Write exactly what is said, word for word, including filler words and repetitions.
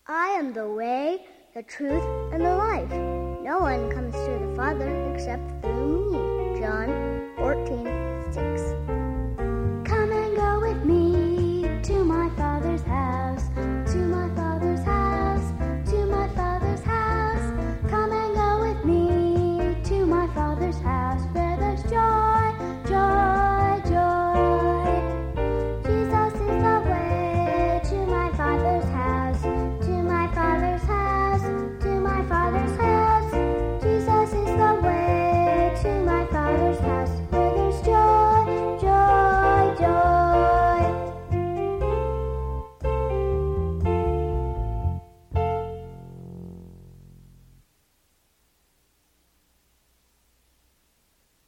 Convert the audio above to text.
I am the way, the truth, and the life. No one comes to the Father except through me.